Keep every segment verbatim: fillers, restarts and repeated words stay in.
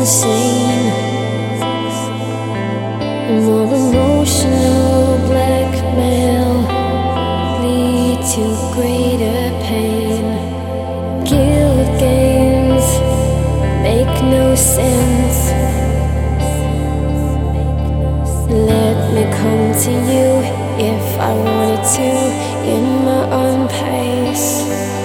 insane. More emotional blackmail lead to greater pain. Guilt games make no sense. Let me come to you if I wanted to, in my own pace.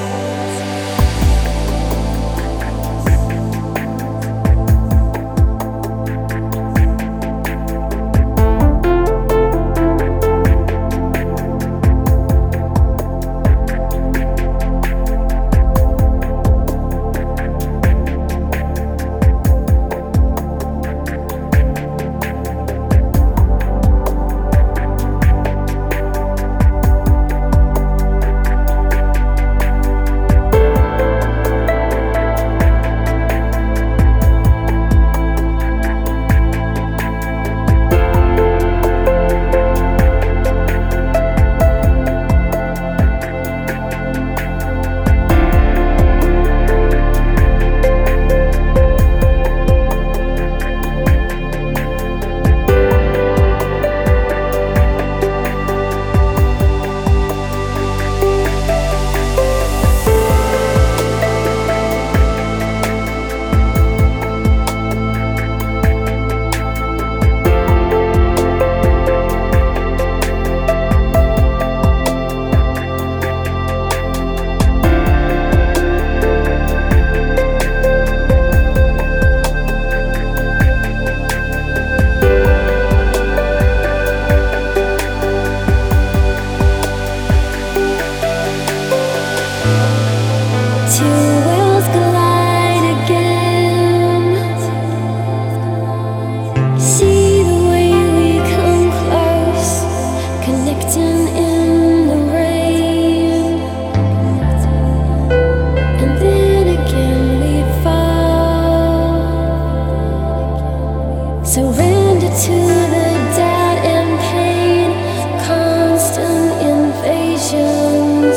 Surrender to the doubt and pain, constant invasions.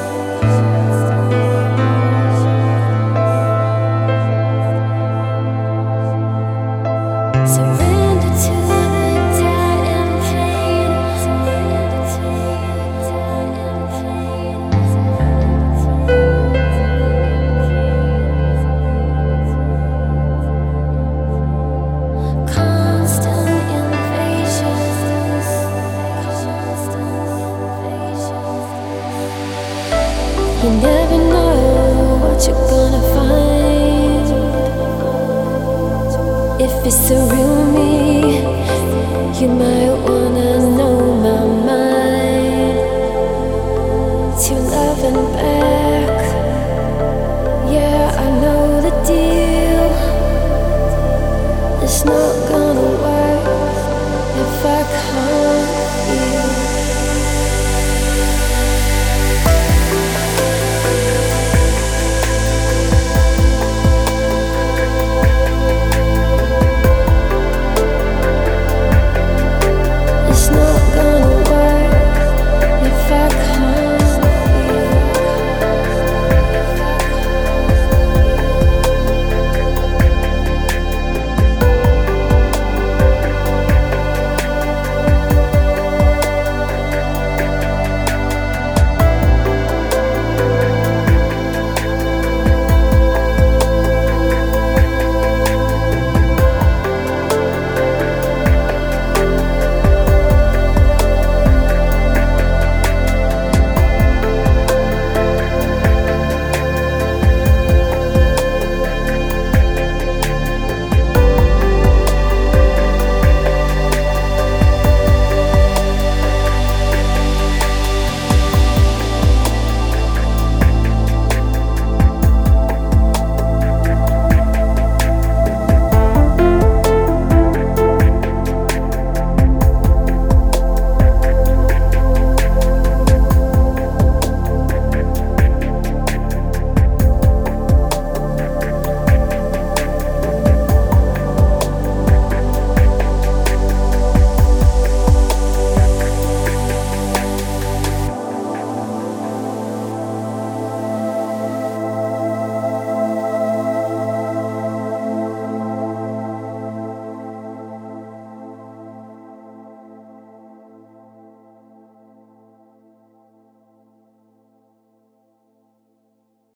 Surrender to the doubt and pain. Surrender to the doubt and pain. Constant invasions. Constant invasions. You never know what you're gonna find. If it's the real me, you might wanna know my mind. To love and back, yeah, I know the deal. It's not gonna work.